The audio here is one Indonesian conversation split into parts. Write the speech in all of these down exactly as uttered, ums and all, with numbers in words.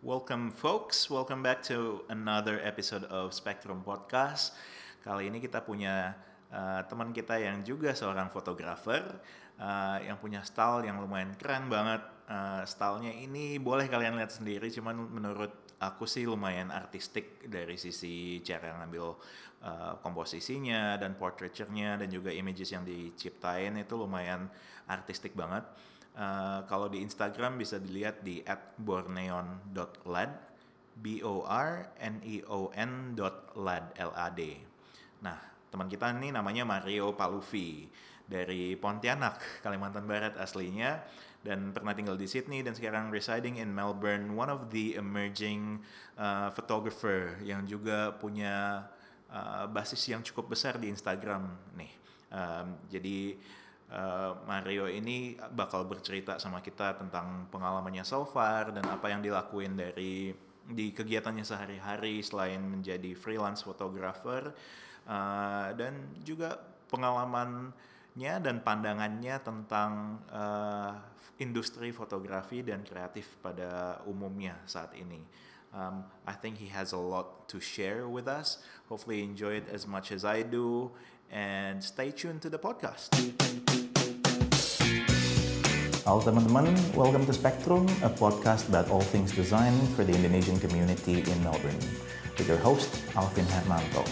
Welcome folks, welcome back to another episode of Spectrum Podcast. Kali ini kita punya uh, teman kita yang juga seorang fotografer uh, yang punya style yang lumayan keren banget. Uh, stylenya ini boleh kalian lihat sendiri, cuman menurut aku sih lumayan artistik dari sisi cara ngambil uh, komposisinya dan portraiture-nya dan juga images yang diciptain itu lumayan artistik banget. Uh, kalau di Instagram bisa dilihat di at borneon dot lad, b o r n e o n dot lad, L A D. Nah, teman kita ini namanya Mario Paluvi dari Pontianak, Kalimantan Barat aslinya, dan pernah tinggal di Sydney dan sekarang residing in Melbourne. One of the emerging uh, photographer yang juga punya uh, basis yang cukup besar di Instagram nih. Um, jadi Uh, Mario ini bakal bercerita sama kita tentang pengalamannya so far dan apa yang dilakuin dari di kegiatannya sehari-hari selain menjadi freelance photographer, uh, dan juga pengalamannya dan pandangannya tentang uh, industri fotografi dan kreatif pada umumnya saat ini. Um, I think he has a lot to share with us. Hopefully you enjoy it as much as I do. And stay tuned to the podcast. Halo teman-teman, welcome to Spectrum, a podcast about all things design for the Indonesian community in Melbourne. With your host, Alvin Hermanto.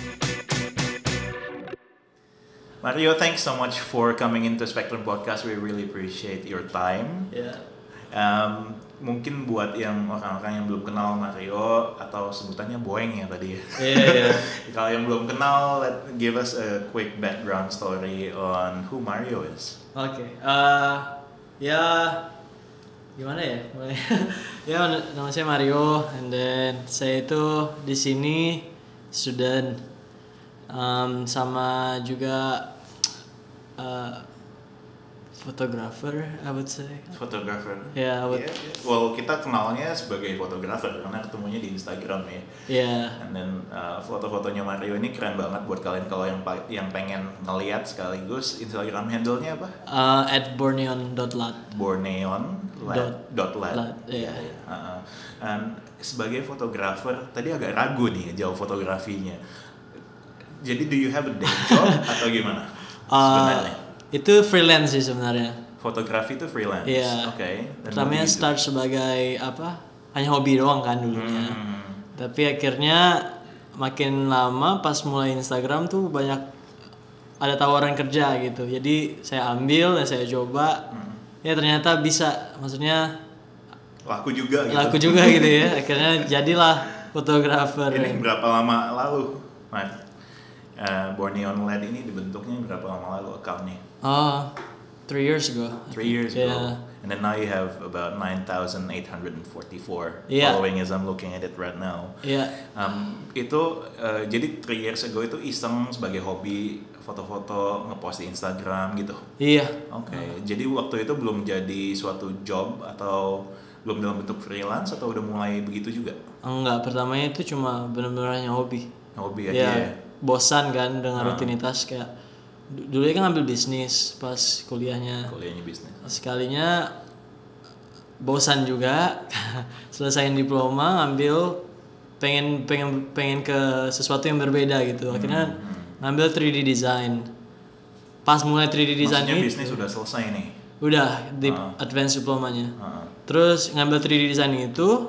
Mario, thanks so much for coming into Spectrum Podcast. We really appreciate your time. Yeah. Um, mungkin buat yang orang-orang yang belum kenal Mario atau sebutannya Boeng ya tadi ya. Yeah, yeah. Kalau yang belum kenal, let give us a quick background story on who Mario is. Oke. Okay. Uh, ya gimana ya? Ya nama saya Mario, and then saya itu di sini student, um, sama juga uh, photographer, I would say. Photographer. Yeah, I would. Yeah, yeah. Well, kita kenalnya sebagai fotografer karena ketemunya di Instagram ya. Yeah. And then uh, foto-fotonya Mario ini keren banget buat kalian kalau yang yang pengen ngeliat sekaligus. Instagram handle-nya apa? Uh, at borneon dot lad. Borneon Dot, dot lad. lad, yeah. Yeah, yeah. Uh, and sebagai fotografer, tadi agak ragu nih jauh fotografinya. Jadi do you have a day job atau gimana? Sebenarnya? Uh, Itu freelance sih sebenarnya. Fotografi itu freelance. Iya. Yeah. Oke. Okay. Pertamanya start sebagai apa? Hanya hobi doang kan dulunya. Hmm. Tapi akhirnya makin lama pas mulai Instagram tuh banyak ada tawaran kerja gitu. Jadi saya ambil dan saya coba. Hmm. Ya ternyata bisa. Maksudnya laku juga gitu. Laku juga gitu ya. Akhirnya jadilah fotografer. Ini berapa lama lalu, Mas? Uh, Borneon Lad ini dibentuknya berapa lama lalu account-nya? Oh, three years ago. Three years ago. Yeah. And then now you have about nine thousand eight hundred forty-four yeah. following as I'm looking at it right now. Iya. Yeah. Um, itu uh, jadi three years ago itu iseng sebagai hobi foto-foto ngepost di Instagram gitu. Iya. Yeah. Oke. Okay. Uh. Jadi waktu itu belum jadi suatu job atau belum dalam bentuk freelance atau udah mulai begitu juga? Enggak, pertamanya itu cuma benar-benar hanya hobi. Hobi aja yeah. ya. Bosan kan dengan uh. rutinitas kayak dulu kan ngambil bisnis pas kuliahnya. Kuliahnya bisnis. Sekalinya bosan juga. Selesaiin diploma ngambil pengen pengen pengen ke sesuatu yang berbeda gitu. Akhirnya hmm. ngambil three D design. Pas mulai three D design maksudnya itu bisnis udah selesai nih. Udah di uh. advance diplomanya. Uh. Terus ngambil three D design itu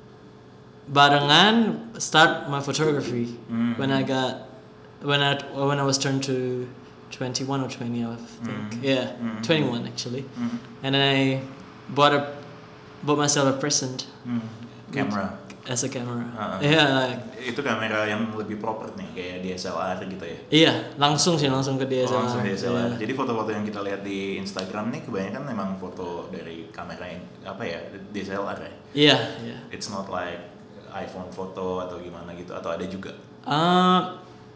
barengan start my photography. Mm-hmm. when I got when I when I was turned to twenty-one or twenty, I think. Mm-hmm. Yeah, mm-hmm. twenty-one actually. Mm-hmm. And then I bought a bought myself a present. Mm-hmm. Camera. As a camera. Uh-uh. Yeah. Itu kamera yang lebih proper nih kayak D S L R gitu ya. Iya, langsung sih langsung ke D S L R. Oh, langsung D S L R. Yeah. Jadi foto-foto yang kita lihat di Instagram nih kebanyakan memang foto dari kamera yang apa ya, D S L R ya. Iya, yeah, iya. Yeah. It's not like iPhone foto atau gimana gitu atau ada juga? Uh,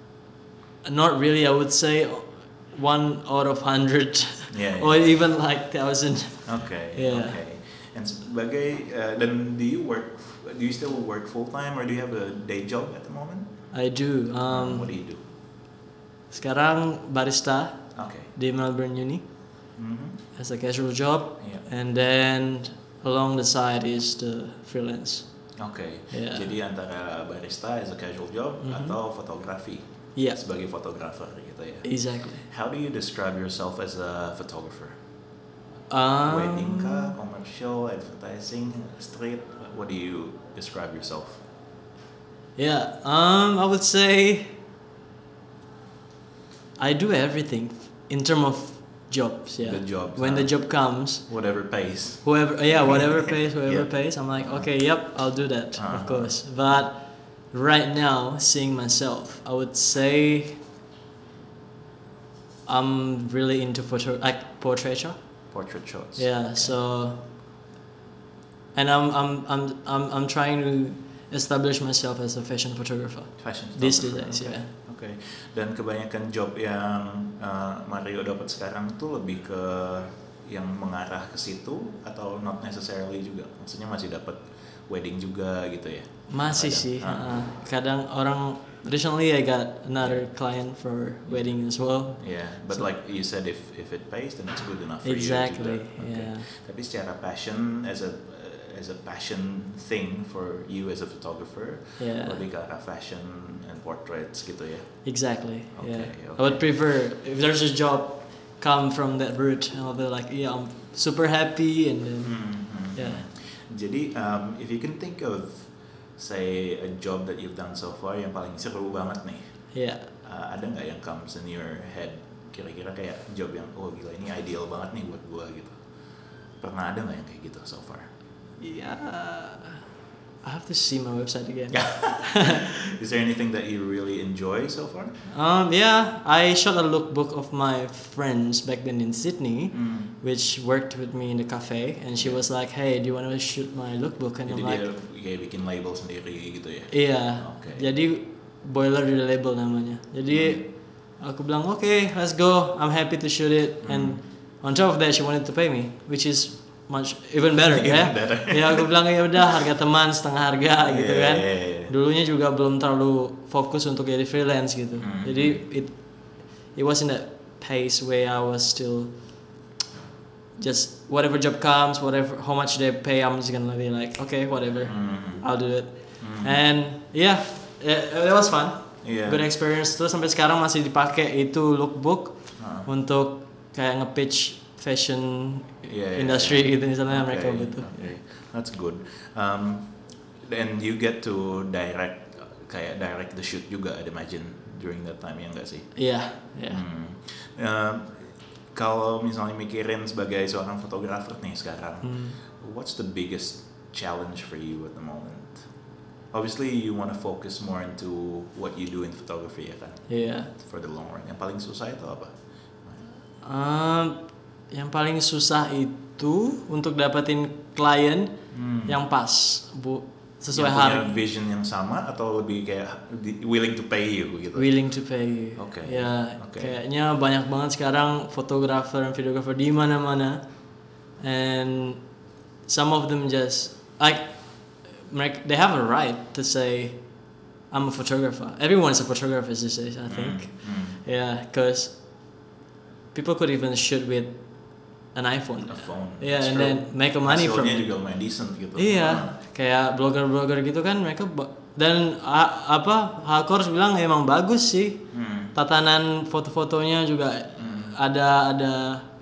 not really. I would say one out of hundred, yeah, yeah. or even like thousand. Okay. Yeah. Okay. And sebagai uh, then do you work? Do you still work full time or do you have a day job at the moment? I do. Um, What do you do? Sekarang barista. Okay. Di Melbourne Uni. Mm-hmm. As a casual job, yeah. and then along the side is the freelance. Oke. Yeah. Jadi antara barista as a casual job Mhm. atau fotografi Yeah. sebagai fotografer gitu ya. Exactly. How do you describe yourself as a photographer? Um, Wedding kah, commercial, advertising, street? What do you describe yourself? Yeah, um, I would say I do everything in terms of jobs. Yeah, The jobs, when the huh? job comes, Whatever pays. whoever, yeah, whatever pays, whoever Yeah. pays, I'm like, okay, yep, I'll do that, Uh-huh. of course. But right now, seeing myself, I would say I'm really into photo, like portraiture. Portrait shots. Yeah, so, and I'm I'm I'm I'm I'm trying to establish myself as a fashion photographer. Fashion These photographer, days, okay. yeah. Oke. Dan kebanyakan job yang uh, Mario dapat sekarang tuh lebih ke yang mengarah ke situ atau not necessarily juga. Maksudnya masih dapat wedding juga gitu ya. Masih Kadang. sih. Ah. uh, kadang orang recently I got another client for wedding as well. Yeah, but So- like you said, if if it pays, then it's good enough for Exactly, you juga. yeah. Tapi secara passion as a as a passion thing for you as a photographer, Yeah. lebih ke arah fashion and portraits gitu ya. Exactly. Okay, yeah. okay. I would prefer if there's a job come from that route. I'll be like, yeah, I'm super happy and then Mhm. yeah. Jadi um, if you can think of say a job that you've done so far yang paling seru banget nih, Yeah. uh, ada nggak yang comes in your head? Kira-kira kayak job yang oh gila ini ideal banget nih buat gua gitu. Pernah ada nggak yang kayak gitu so far? Yeah. I have to see my website again. Is there anything that you really enjoy so far? Um, yeah, I shot a lookbook of my friends back then in Sydney, Hmm. which worked with me in the cafe, and she was like, "Hey, do you want to shoot my lookbook?" And Jadi I'm like, dia kayak bikin label sendiri gitu ya? "Iya." Oke. Jadi boiler di label namanya. Jadi aku bilang, "Okay, let's go. I'm happy to shoot it." And on top of that, she wanted to pay me, which is much even better Even ya. better. Ya aku bilang ya udah harga teman setengah harga gitu Yeah, kan. yeah, yeah. Dulunya juga belum terlalu fokus untuk jadi freelance gitu. Hmm. Jadi it it wasn't that pace where I was still just whatever job comes, whatever how much they pay, I'm just gonna be like, okay, whatever, Mhm. I'll do it. Mhm. And yeah, it, it was fun. Iya. Good experience. Terus sampai sekarang masih dipakai itu lookbook Ah. untuk kayak nge-pitch fashion Yeah, yeah, industry yeah. gitu misalnya Okay, mereka butuh. okay. That's good. Um, and you get to direct kayak direct the shoot juga, I'd imagine during that time ya nggak sih? Iya, iya. Hmm. Um, kalau misalnya mikirin sebagai seorang fotografer nih sekarang, Hmm. what's the biggest challenge for you at the moment? Obviously you want to focus more into what you do in photography ya kan, Iya. for the long run. Yang paling susah itu apa? Um, yang paling susah itu untuk dapetin klien Hmm. yang pas, bu, sesuai yang punya harga, vision yang sama atau lebih kayak di- willing to pay you gitu? willing to pay. Oke, Ya, oke. kayaknya banyak banget sekarang fotografer dan videografer di mana-mana, and some of them just like mereka, they have a right to say I'm a photographer. Everyone's a photographer these days, I think. Hmm. Yeah, because people could even shoot with an iPhone. A phone. Yeah, That's and true. then make a money from Hasilnya it. juga lumayan decent gitu. Iya, kayak blogger-blogger gitu kan mereka ba- dan a- apa Hakors bilang emang bagus sih. Hmm. Tatanan foto-fotonya juga Hmm. ada ada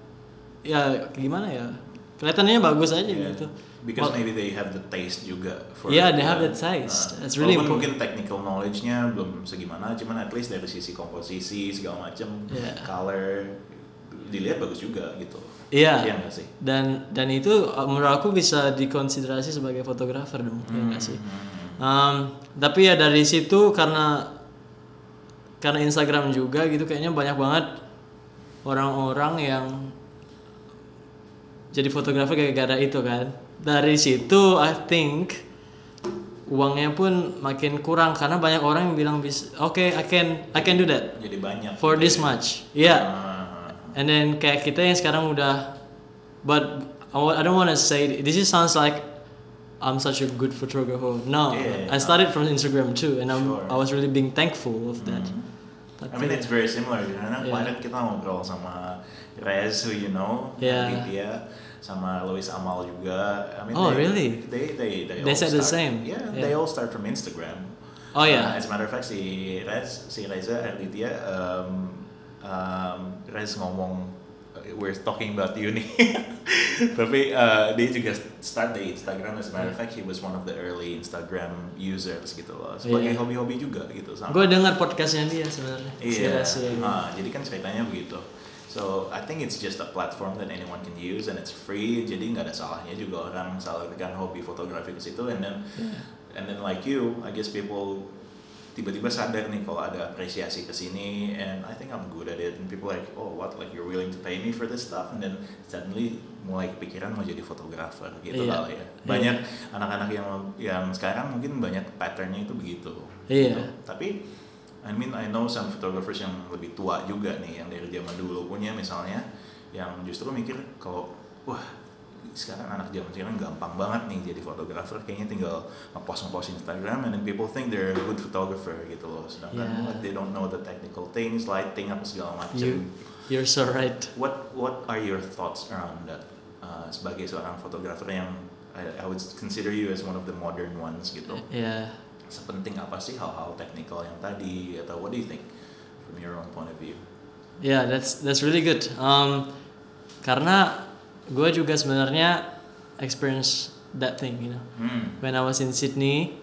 ya gimana ya? Kelihatannya bagus aja Yeah. gitu. Because Well- maybe they have the taste juga. For Yeah, they it, have uh, the taste. uh, It's really walaupun important. mungkin technical knowledge-nya belum segimana, cuman at least dari sisi komposisi segala macam, Yeah. color dilihat bagus juga gitu. Iya. Iya nggak sih? Dan dan itu uh, menurut aku bisa dikonsiderasi sebagai fotografer dong, ya nggak sih? Hmm. Um, tapi ya dari situ karena karena Instagram juga gitu kayaknya banyak banget orang-orang yang jadi fotografer gara-gara itu kan. Dari situ I think uangnya pun makin kurang karena banyak orang yang bilang bis oke okay, I can I can do that Jadi banyak. for gitu this ya. much. Iya. Ah. And then kayak kita yang sekarang udah, but I wa- I don't want to say this is sounds like I'm such a good photographer. No, Yeah, I started from Instagram too, and I'm, Sure. I was really being thankful of that. Mhm. Tapi, I mean it's very similar karena Yeah. kemarin kita ngobrol sama Rez who you know, Yeah. Aditya. sama Louis Amal juga. I mean, Oh, they, really? They they they, They all said the start- same. Yeah, Yeah. they all start from Instagram. Oh, yeah. Uh, as a matter of fact, si Rez, si Reza Arditya, um, um, Rez ngomong, we're talking about you nih. Tapi uh, dia juga start dari Instagram. As a matter of fact, he was one of the early Instagram users gitu loh. Sebagai Yeah. hobi-hobi juga gitu sama. Gue dengar podcastnya dia sebenarnya. Iya. Si Reza. Ah, jadi kan ceritanya begitu. So I think it's just a platform that anyone can use and it's free. Jadi nggak ada salahnya juga orang salurkan hobi fotografi ke situ. And then Yeah. and then like you, I guess people tiba-tiba sadar nih kalau ada apresiasi ke sini, and I think I'm good at it. And people like, oh what, like you're willing to pay me for this stuff, and then suddenly mulai kepikiran mau jadi fotografer gitu Iya. kali ya. Banyak anak-anak yang yang sekarang mungkin banyak patternnya itu begitu. Iya. Gitu. Tapi I mean I know some photographers yang lebih tua juga nih, yang dari zaman dulu punya misalnya, yang justru mikir kalau wah sekarang anak zaman sekarang gampang banget nih jadi fotografer, kayaknya tinggal ngepost ngepost Instagram and then people think they're a good photographer gitu loh, sedangkan Yeah. like, they don't know the technical things, lighting apa segala macam. You, you're so right. What what are your thoughts around that? Uh, sebagai seorang fotografer yang I, I would consider you as one of the modern ones gitu. Yeah. Sepenting apa sih hal-hal teknikal yang tadi, atau what do you think from your own point of view? Yeah, that's that's really good. Um, karena gue juga sebenarnya experience that thing, you know. Hmm. When I was in Sydney,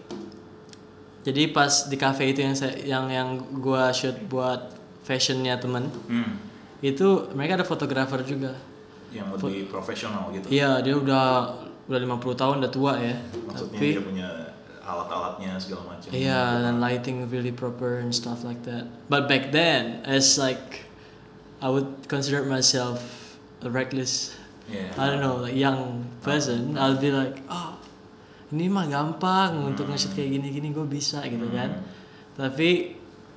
jadi pas di cafe itu yang saya, yang yang gue shoot buat fashionnya temen, Hmm. itu mereka ada fotografer juga. Yang lebih profesional gitu. Iya, dia udah udah lima puluh tahun, udah tua ya. Maksudnya Tapi dia punya alat-alatnya segala macam. iya, dan lighting really proper and stuff like that. But back then, as like I would consider myself a reckless, Yeah. I don't know, like young person. I'll be like, oh, ini mah gampang untuk nge-shoot kayak gini-gini, gue bisa gitu kan. Tapi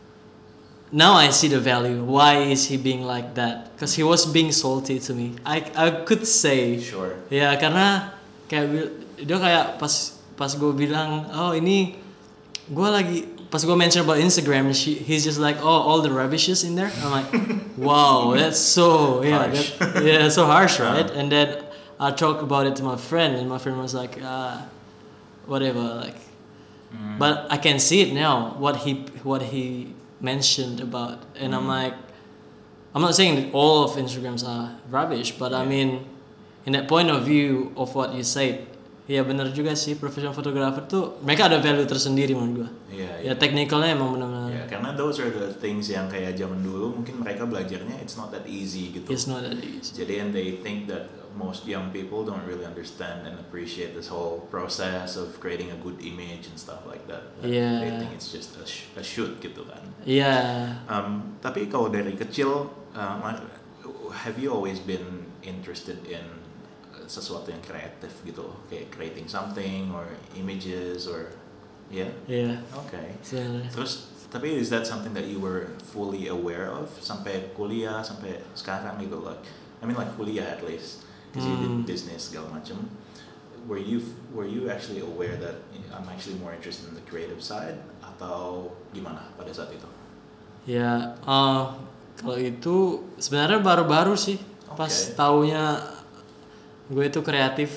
now I see the value. Why is he being like that? Because he was being salty to me. I I could say, Sure. ya karena kayak bil- dia kayak pas pas gue bilang, oh ini gue lagi pas gue mention about Instagram, she, he's just like, oh all the rubbishes in there. I'm like, wow, that's so yeah, Harsh. that, yeah, so harsh, right? And then I talk about it to my friend, and my friend was like, ah, whatever, like. But I can see it now. What he what he mentioned about, and I'm like, I'm not saying that all of Instagrams are rubbish, but I mean, in that point of view of what you said, ya benar juga sih, professional photographer tuh mereka ada value tersendiri menurut gua. Iya. Ya technicalnya emang benar-benar. Ya, karena those are the things yang kayak zaman dulu mungkin mereka belajarnya it's not that easy gitu. It's not that easy. Jadi and they think that most young people don't really understand and appreciate this whole process of creating a good image and stuff like that. That Yeah. They think it's just a, sh- a shoot gitu kan. Iya. Um, tapi kalau dari kecil, um, have you always been interested in uh, sesuatu yang kreatif gitu, kayak creating something or images or, yeah? Iya. Okay. Sebenarnya. Terus, tapi is that something that you were fully aware of sampai kuliah, sampai sekarang gitu, like, I mean like kuliah at least, because you Hmm. did business segala macam. Were you were you actually aware that I'm actually more interested in the creative side atau gimana pada saat itu? Ya, uh, kalau itu sebenarnya baru-baru sih. Pas Oke. taunya gue itu kreatif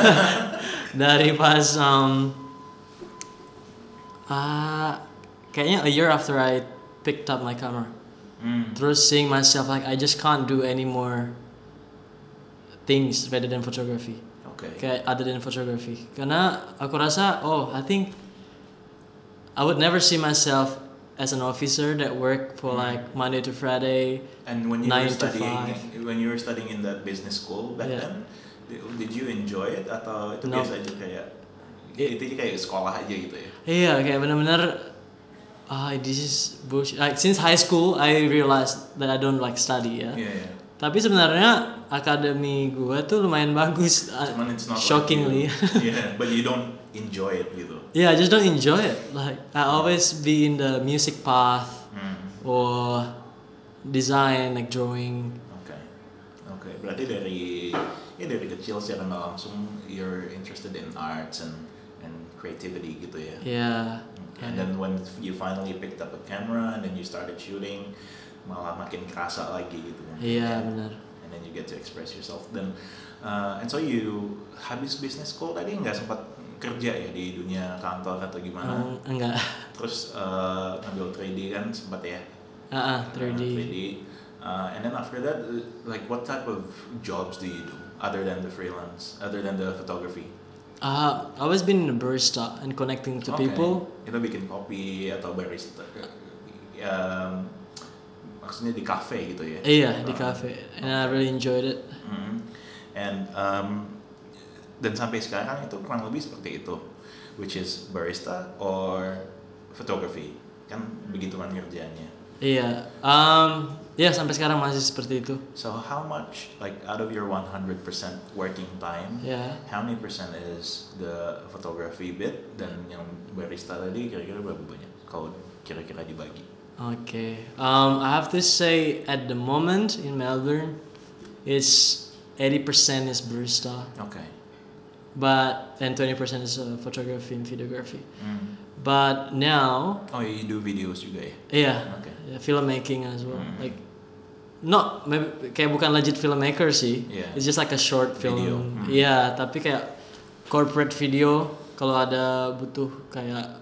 dari pas um, ah kayaknya a year after I picked up my camera. Hmm. Terus seeing myself like I just can't do any more things rather than photography. Okay. Kayak other than photography. Karena aku rasa, oh, I think I would never see myself as an officer that work for like Monday to Friday. And when you nine were to studying, five. when you were studying in that business school back Yeah. then, did, did you enjoy it atau itu No. biasa aja kayak It- itu kayak sekolah aja gitu ya? Iya, kayak benar-benar ah this is bullshit. Like since high school I realized that I don't like study ya. Iya. Yeah, Tapi sebenarnya akademi gue tuh lumayan bagus. uh, Cuman it's not shockingly. Like you. Yeah, but you don't enjoy it gitu. Yeah, I just don't enjoy it. Like I always be in the music path Hmm. or design, like drawing. Oke, oke. Berarti dari ya dari kecil secara nggak langsung you're interested in arts and and creativity gitu ya. Yeah. And then when you finally picked up a camera and then you started shooting, malah makin kerasa lagi gitu mungkin. Iya ya. benar. And then you get to express yourself. Dan uh, and so you habis business school tadi nggak sempat kerja ya di dunia kantor atau gimana? Um, enggak. Terus uh, ngambil three D kan sempat ya? Ah, uh, three D. Uh, three D. Uh, and then after that, like what type of jobs do you do other than the freelance, other than the photography? Uh, I've always been a barista and connecting to Okay. people. Itu bikin kopi atau barista? Um, maksudnya di cafe gitu ya? Iya, di Uh, cafe. And I really enjoyed it. Mm-hmm. And um, dan sampai sekarang itu kurang lebih seperti itu, which is barista or photography, kan begituan kerjanya. Iya. Um, ya sampai sekarang masih seperti itu. So how much, like out of your one hundred percent working time, Ya. how many percent is the photography bit, dan yang barista tadi kira-kira berapa banyak kalau kira-kira dibagi? Okay. Um, I have to say at the moment in Melbourne, it's eighty percent is barista, Okay. but and twenty percent is uh, photography and videography. Mm. But now, Oh, you do videos juga ya? yeah, Okay. yeah, filmmaking as well. Mm. Like, not maybe kayak bukan legit filmmaker sih. Yeah. It's just like a short film. Video. Mm. Iya, tapi kayak corporate video kalau ada butuh kayak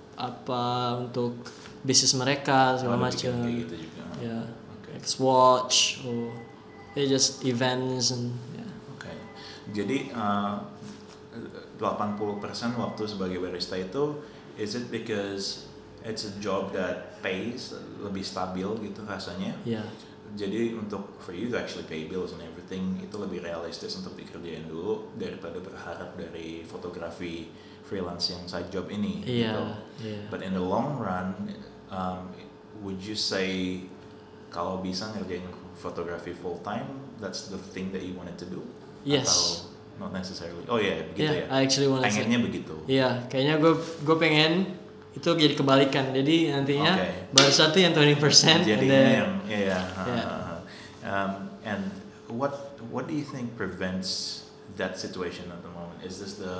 apa untuk bisnis mereka segala Oh, ada macam. bikin kayak gitu juga. Ya, Okay. like Swatch or yeah, just events and yeah. Oke. Jadi uh, delapan puluh persen waktu sebagai barista itu, is it because it's a job that pays, lebih stabil gitu rasanya? Yeah. Jadi untuk for you to actually pay bills and everything itu lebih realistis untuk dikerjain dulu daripada berharap dari fotografi freelance yang side job ini. Iya, Gitu. iya. But in the long run, um, would you say kalau bisa ngerjain fotografi full time, that's the thing that you wanted to do? Yes. Atau not necessarily? Oh ya, yeah, begitu Yeah, ya. I actually wanna say. Pengennya begitu. Iya, kayaknya gue gue pengen itu jadi kebalikan. Jadi nantinya Okay. baru satu yang twenty percent and Jadinya then yang, ya, ya. Yeah. Um, and what what do you think prevents that situation at the moment? Is this the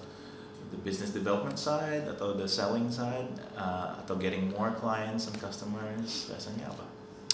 the business development side atau the selling side uh, atau getting more clients and customers? Rasanya apa?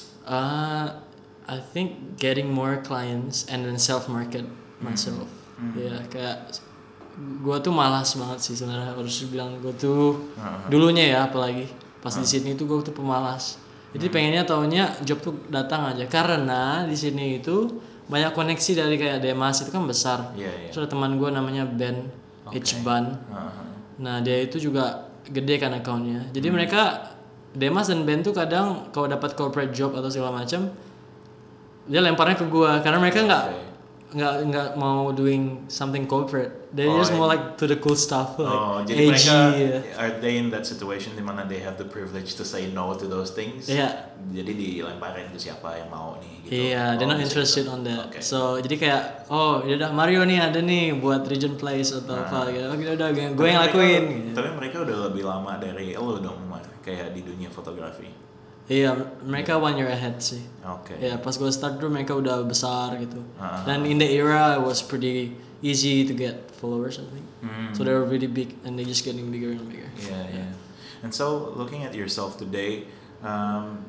Uh, I think getting more clients and then self market myself. Mhm. Ya kayak gue tuh malas banget sih sebenarnya harus bilang gue tuh Uh-huh. dulunya ya apalagi pas di Uh. sini tuh gue tuh pemalas. Jadi Hmm. pengennya taunya job tuh datang aja karena di sini itu banyak koneksi dari kayak Demas itu kan besar. Iya, iya. Terus ada teman gue namanya Ben Okay. Ichban. Uh-huh. Nah dia itu juga gede kan akunnya. Jadi Hmm. mereka Demas dan Ben tuh kadang kalau dapat corporate job atau segala macam dia lemparnya ke gua karena mereka nggak Okay. nggak nggak mau doing something corporate. They Oh, just more I- like to the cool stuff like Oh, jadi A G. mereka ya. are they in that situation di mana they have the privilege to say no to those things? Iya. Jadi dilemparin ke siapa yang mau nih gitu. Iya, they're Oh, not gitu. interested on that. Okay. So jadi kayak oh ya udah Mario nih ada nih buat Regent Place atau Nah. apa gitu. Oke udah gue Tapi yang mereka- lakuin. Gitu. Tapi mereka udah lebih lama dari lo dong, Mar, kayak di dunia fotografi. Iya, mereka one year ahead sih. Oke. Ya pas gue start dulu mereka udah besar gitu. Ah. Dan in the era it was pretty easy to get followers I think. Hmm. So they were really big and they just getting bigger and bigger. Yeah, yeah. And so looking at yourself today, um,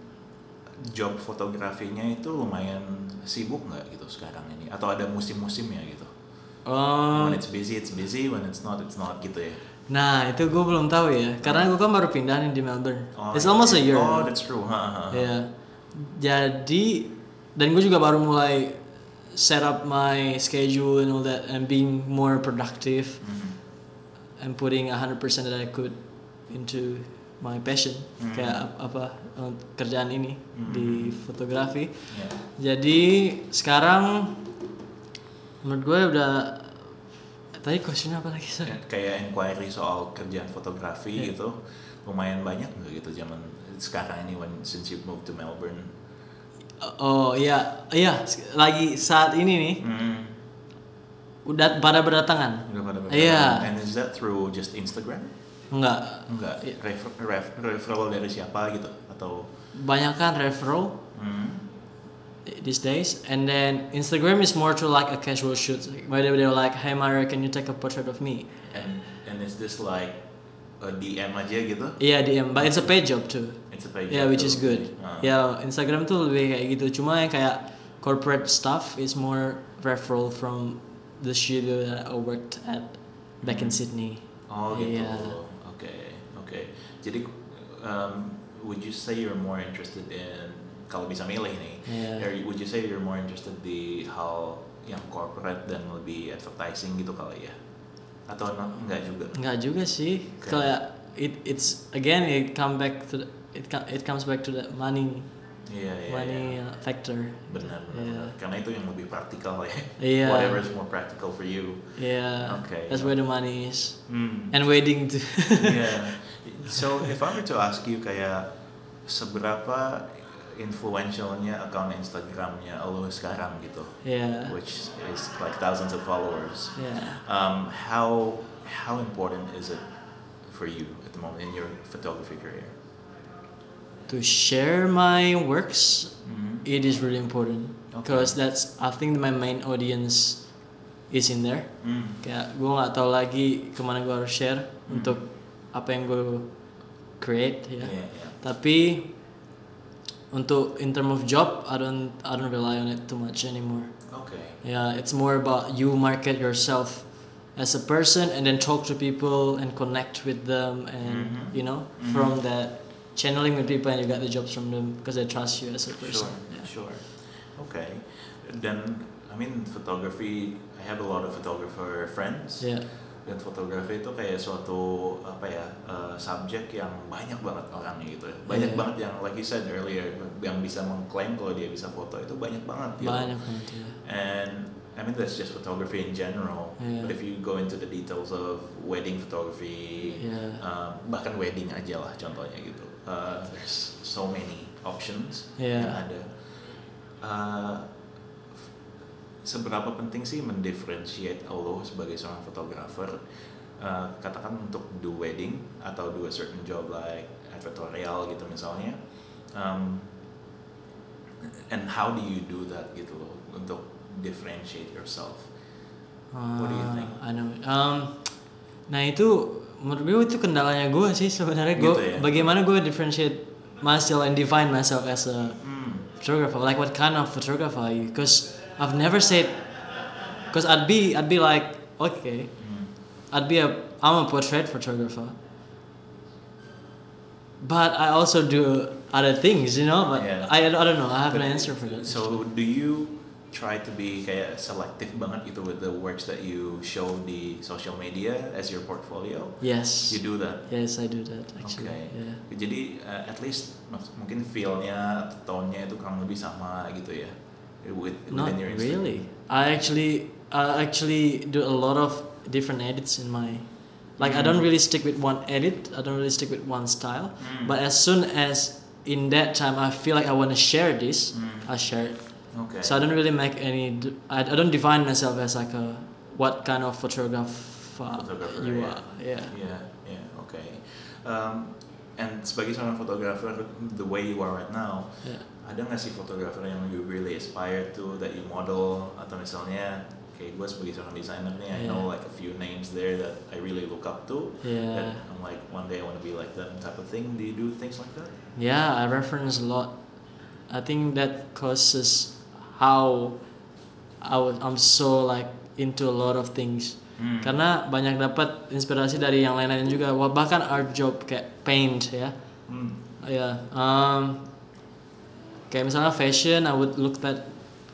job fotografinya itu lumayan sibuk nggak gitu sekarang ini? Atau ada musim-musimnya gitu? Um, When it's busy, it's busy. When it's not, it's not gitu ya? nah itu gue belum tahu ya, karena gue kan baru pindah nih di Melbourne. Oh, It's iya. almost a year. Oh, that's true. Ha, ha, ha. Ya, jadi dan gue juga baru mulai set up my schedule and all that and being more productive Mhm. and putting one hundred percent that I could into my passion Hmm. kayak ap- apa eh, kerjaan ini Hmm. di fotografi. Yeah. Jadi sekarang menurut gue udah tadi questionnya apa lagi sorry? Kayak inquiry soal kerjaan fotografi Yeah. gitu, lumayan banyak nggak gitu zaman sekarang ini when since you moved to Melbourne? Oh iya iya lagi saat ini nih Hmm. udah pada berdatangan. Udah pada berjalan. Iya. And is that through just Instagram? Enggak. Enggak. Iya. Refer- ref- referral dari siapa gitu atau? Banyak kan referral Hmm. these days, and then Instagram is more to like a casual shoot. Like, where they- they're like, "Hey Mario, can you take a portrait of me?" And and is this like a D M aja gitu? Iya D M, but it's a paid job too. It's a page. Yeah, which is good. Ah. Ya Instagram tuh lebih kayak gitu. Cuma yang kayak corporate stuff is more referral from the studio that I worked at back in Sydney. Oh gitu. Yeah. Oke, oke. Jadi um, would you say you're more interested in, kalau bisa milih nih, Yeah. are you- would you say you're more interested di hal yang corporate dan lebih advertising gitu kali ya? Atau no- enggak juga? Enggak juga sih. Okay. Kayak it it's again it come back to the, it co- it comes back to that money Iya, iya, money iya. uh, factor. Benar, benar, Yeah. benar. Karena itu yang lebih praktikal ya. Iya. Whatever is more practical for you. Yeah. Okay. That's where the money is. Hmm. And wedding too. Yeah. So if I were to ask you kayak seberapa influentialnya account Instagramnya lo sekarang gitu, Yeah. which is like thousands of followers. Yeah. Um, how how important is it for you at the moment in your photography career? To share my works, Mhm. it is really important Okay. because that's I think my main audience is in there. Mm. Kayak gue nggak tahu lagi kemana gue harus share Hmm. untuk apa yang gue create ya. Yeah, yeah. Tapi untuk in term of job, I don't I don't rely on it too much anymore. Okay. Yeah, it's more about you market yourself as a person and then talk to people and connect with them and Mhm. you know Mhm. from that channeling with people and you get the jobs from them because they trust you as a person. Sure, Yeah. sure. Okay. Dan I mean photography, I have a lot of photographer friends. Yeah. Dan fotografi itu kayak suatu apa ya uh, subjek yang banyak banget orangnya gitu ya. Banyak Yeah. banget yang like you said earlier yang bisa mengklaim kalau dia bisa foto itu banyak banget gitu. Banyak banget ya. And I mean that's just photography in general. Yeah. But if you go into the details of wedding photography, Yeah. uh, bahkan wedding aja lah contohnya gitu. Uh, there's so many options Yeah. yang ada. Uh, seberapa penting sih mendifferentiate lo sebagai seorang fotografer, uh, katakan untuk do wedding atau do a certain job like advertorial gitu misalnya, um, and how do you do that gitu loh untuk differentiate yourself? What do you think? Uh, I know. Um, nah itu menurut gue itu kendalanya gue sih sebenarnya gue Gitu ya? bagaimana gue differentiate myself and define myself as a Hmm. photographer, like what kind of photographer are you? Because I've never said, because I'd be I'd be like okay, Hmm. I'd be a I'm a portrait photographer, but I also do other things, you know. But Yeah. I, I don't know. I have But no answer for that. So do you try to be kayak selective banget gitu with the works that you show di social media as your portfolio? Yes. You do that? Yes, I do that actually. Okay. Yeah. Jadi uh, at least mak- mungkin feel-nya atau tone-nya itu kurang lebih sama gitu ya. With, Not within your Instagram. really. I actually I actually do a lot of different edits in my like I Mm. don't really stick with one edit. I don't really stick with one style. Mm. But as soon as in that time I feel like I want to share this, Mm. I share it. Okay. So I don't really make any. d- I, I don't define myself as like a what kind of photographer, Photographer, you yeah. are. Yeah. Yeah, yeah, okay. Um, and sebagai seorang fotografer, the way you are right now, Yeah. ada nggak sih fotografer yang you really aspire to, that you model, atau misalnya kayak gue sebagai seorang designer nih, I know Yeah. like a few names there that I really look up to. Yeah. That I'm like one day I want to be like them type of thing. Do you do things like that? Yeah, I reference a lot. I think that causes how I was, I'm so like into a lot of things. Hmm. Karena banyak dapat inspirasi dari yang lain-lain juga. Wah, bahkan art job kayak paint ya. Hmm. Ya, um, kayak misalnya fashion, I would look at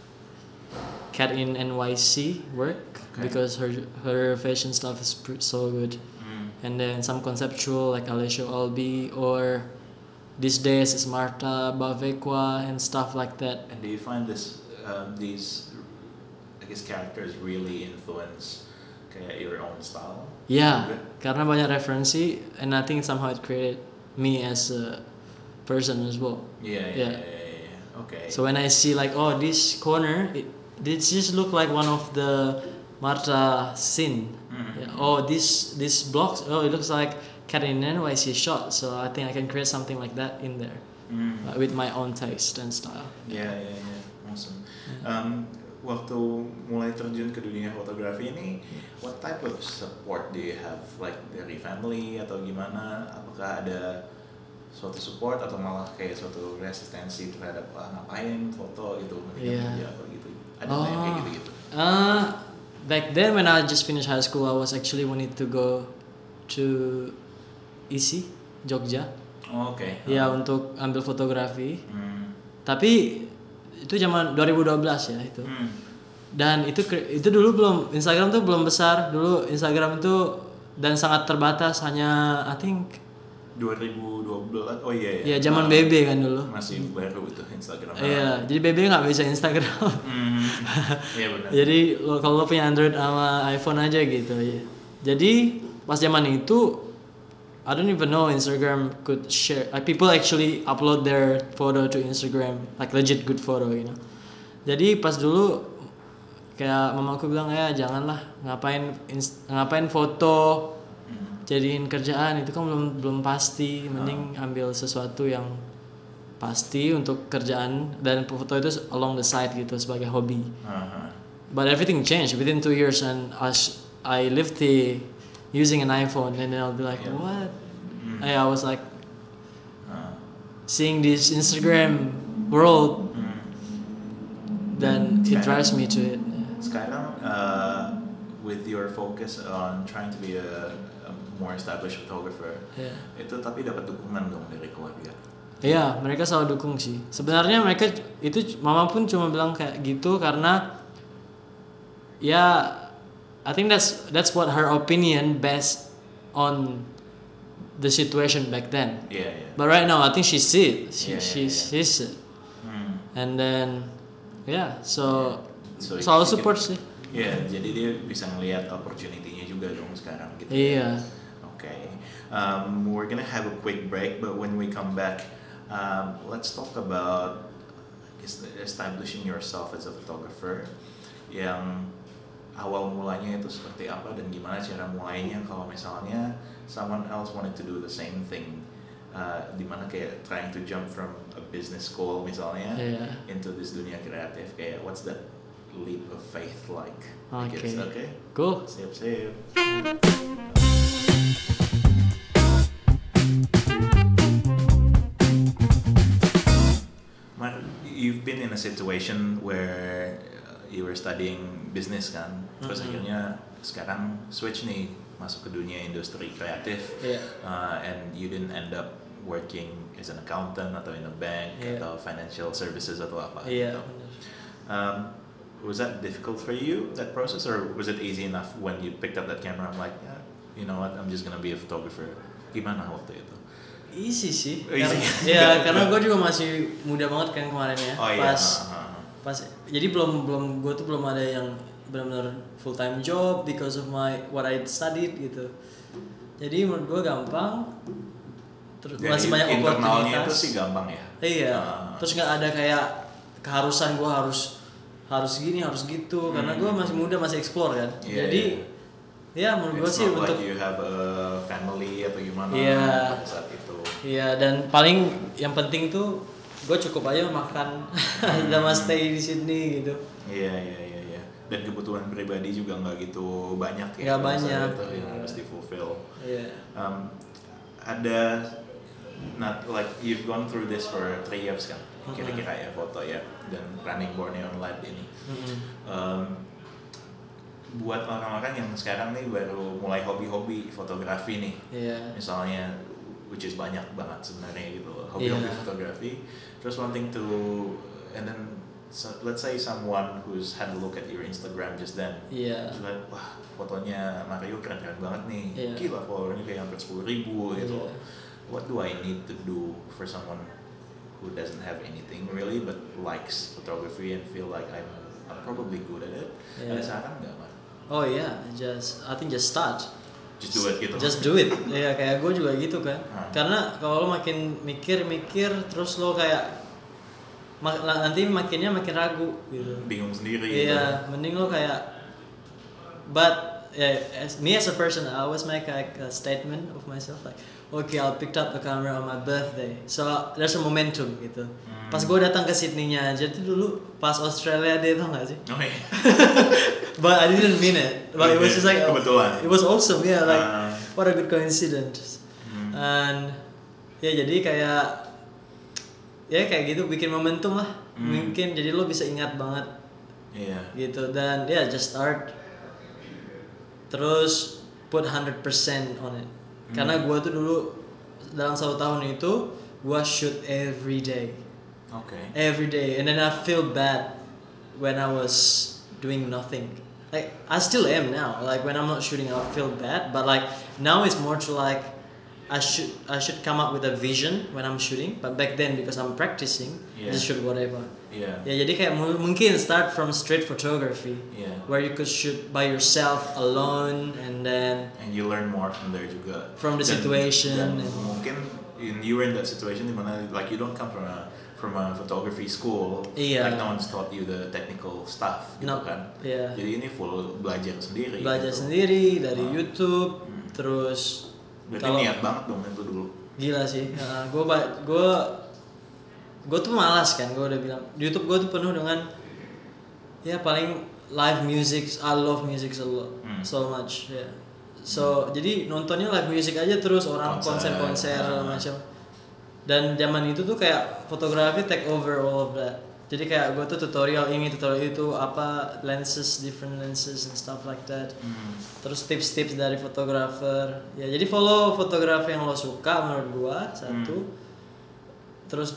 Cat in N Y C work Okay. because her her fashion stuff is pr- so good. Hmm. And then some conceptual like Alessio Albi or these days is Marta Bavequa and stuff like that. And do you find this, um, these, I guess, characters really influence kayak your own style? Yeah, Juga? karena banyak referensi and I think somehow it created me as a person as well. Yeah, yeah, Yeah. yeah, yeah, yeah. Okay. So when I see like oh this corner, it this just look like one of the Marta scene. Mhm. Yeah. Oh this this blocks. Oh it looks like Cat in N Y C shot. So I think I can create something like that in there Hmm. uh, with my own taste and style. Yeah, yeah, yeah. Awesome. Um, waktu mulai terjun ke dunia fotografi ini, what type of support do you have? Like dari family atau gimana? Apakah ada suatu support atau malah kayak suatu resistensi terhadap ah, ngapain foto gitu, mendingan Iya. kerja apa gitu. Ada nggak yang kayak Oh, gitu-gitu? uh, back then when I just finished high school, I was actually wanted to go to I S I, Jogja. Oh, Oke. Ya untuk ambil fotografi. Hmm. Tapi itu zaman dua ribu dua belas ya itu. Hmm. Dan itu kre- itu dulu belum Instagram tuh belum besar. Dulu Instagram itu dan sangat terbatas, hanya I think dua ribu dua belas. Oh iya ya. ya zaman Ah, B B kan dulu. masih baru itu Instagram. Iya, jadi B B nggak bisa Instagram. Hmm. Iya benar. Jadi lo kalau lo punya Android sama iPhone aja gitu ya. Jadi pas zaman itu I don't even know Instagram could share. Like people actually upload their photo to Instagram, like legit good photo, you know. Jadi pas dulu kayak mamaku bilang ya janganlah ngapain ins- ngapain foto jadiin kerjaan itu kan belum belum pasti, mending ambil sesuatu yang pasti untuk kerjaan dan foto itu along the side gitu sebagai hobi. Uh-huh. But everything changed within two years, and I, sh- I lived the using an iPhone, and then I'll be like, Yeah. what? Mm. I, I was like Uh, seeing this Instagram world, hmm. then it Sekarang- drives me to it. Sekarang uh, with your focus on trying to be a, a more established photographer, Yeah. itu tapi dapat dukungan dong dari keluarga. Iya, mereka selalu dukung sih. Sebenarnya mereka itu mama pun cuma bilang kayak gitu karena ya I think that's that's what her opinion based on the situation back then. Iya iya. But right now I think she see it. She Yeah, she yeah, yeah. sees it. Hmm. And then yeah, so So selalu she support can- sih. Iya, jadi dia bisa ngelihat opportunity-nya juga dong sekarang gitu. Iya. Okay. Um, we're gonna have a quick break, but when we come back, um, let's talk about is- establishing yourself as a photographer. Yang awal mulanya itu seperti apa dan gimana cara mulainya kalau misalnya someone else wanted to do the same thing, uh, dimana kayak trying to jump from a business school misalnya Iya. into this dunia kreatif, kayak what's that leap of faith like? I Oke. guess, okay? Cool. Sip, sip. Mar, you've been in a situation where uh, you were studying business kan, terus Mhm. akhirnya sekarang switch nih masuk ke dunia industri kreatif, Iya. uh, and you didn't end up working as an accountant atau in a bank Iya. atau financial services atau apa Iya. gitu. Um, was that difficult for you, that process, or was it easy enough when you picked up that camera? I'm like, yeah, you know what, I'm just gonna be a photographer. Gimana waktu itu? Easy sih. Oh, easy. Karena- ya karena gue juga masih muda banget kan kemarin ya. Oh iya. Pas uh-huh. pas jadi belum belum gue tuh belum ada yang benar-benar full time job because of my what I studied gitu. Jadi menurut gue gampang. Terus Jadi masih banyak internalnya oportunitas. itu sih gampang ya. Iya. Uh, Terus nggak ada kayak keharusan gue harus harus gini harus gitu karena gue masih muda masih explore kan. Iya, Jadi iya. ya menurut gue It's sih not untuk like you have a family atau gimana Iya. pada saat itu. iya dan paling yang penting tuh gue cukup aja makan sama stay di Sydney gitu. Iya iya iya iya. Dan kebutuhan pribadi juga nggak gitu banyak ya. Nggak pada saat banyak, itu yang iya. harus di fulfill. Iya. Um, ada not like you've gone through this for three years kan, kira-kira ya foto ya dan running Borneo Online ini. Mm-mm. Um, buat orang-orang yang sekarang nih baru mulai hobi-hobi fotografi nih, Iya. misalnya, which is banyak banget sebenarnya gitu, hobi-hobi Iya. fotografi, terus wanting to, and then so, let's say someone who's had a look at your Instagram just then, Iya. terus lihat, wah fotonya Mario keren-keren banget nih, Iya. gila followernya kayak hampir sepuluh ribu gitu. Iya. What do I need to do for someone who doesn't have anything really but likes photography and feel like I'm, I'm probably good at it? Ada Iya. saran nggak, Mar? Oh iya, just I think just start. Just do it gitu. Just do it. Iya kayak gue juga gitu kan. Hmm. Karena kalau lo makin mikir-mikir terus lo kayak mak- nanti makinnya makin ragu gitu. Bingung sendiri gitu. Iya, mending lo kayak but yeah, as me as a person I always make like a statement of myself like okay I picked up the camera on my birthday so there's a momentum gitu. Hmm. Pas gue datang ke Sydney-nya aja tuh dulu pas Australia Day tau gak sih? Oh iya. But I didn't mean it. But it was just like Kebetulan. it was awesome, yeah. Like Ah. what a good coincidence. Hmm. And Ya jadi kayak ya kayak gitu bikin momentum lah. Hmm. Mungkin jadi lo bisa ingat banget Iya. gitu dan ya yeah, just start terus put one hundred percent on it. Hmm. Karena gua tuh dulu dalam satu tahun itu gua shoot every day. Oke. Every day and then I feel bad when I was doing nothing. Like I still am now. Like when I'm not shooting I feel bad, but like now it's more to like I should I should come up with a vision when I'm shooting, but back then because I'm practicing, Yeah. just shoot whatever. Iya. Ya jadi kayak mu- mungkin start from street photography, Iya. where you could shoot by yourself alone, and then And you learn more from there juga. From the Dan- situation dan and- mungkin in, you were in that situation dimana like you don't come from a from a photography school. Iya. Like no one's taught you the technical stuff gitu No, kan. iya. Jadi ini full belajar sendiri. belajar gitu. sendiri dari Ah. YouTube, Hmm. terus Berarti kalau- niat banget dong itu dulu. gila sih. Nah, gue gue gue tuh malas kan, gue udah bilang YouTube gue tuh penuh dengan ya paling live music. I love music so Hmm. so much ya. So jadi nontonnya live music aja terus orang Konser. konser-konser segala Ah. macam. Dan zaman itu tuh kayak fotografi take over all of that. Jadi kayak gue tuh tutorial ini tutorial itu apa lenses different lenses and stuff like that. Hmm. Terus tips-tips dari fotografer. Ya jadi follow fotografer yang lo suka menurut gua satu. Hmm. Terus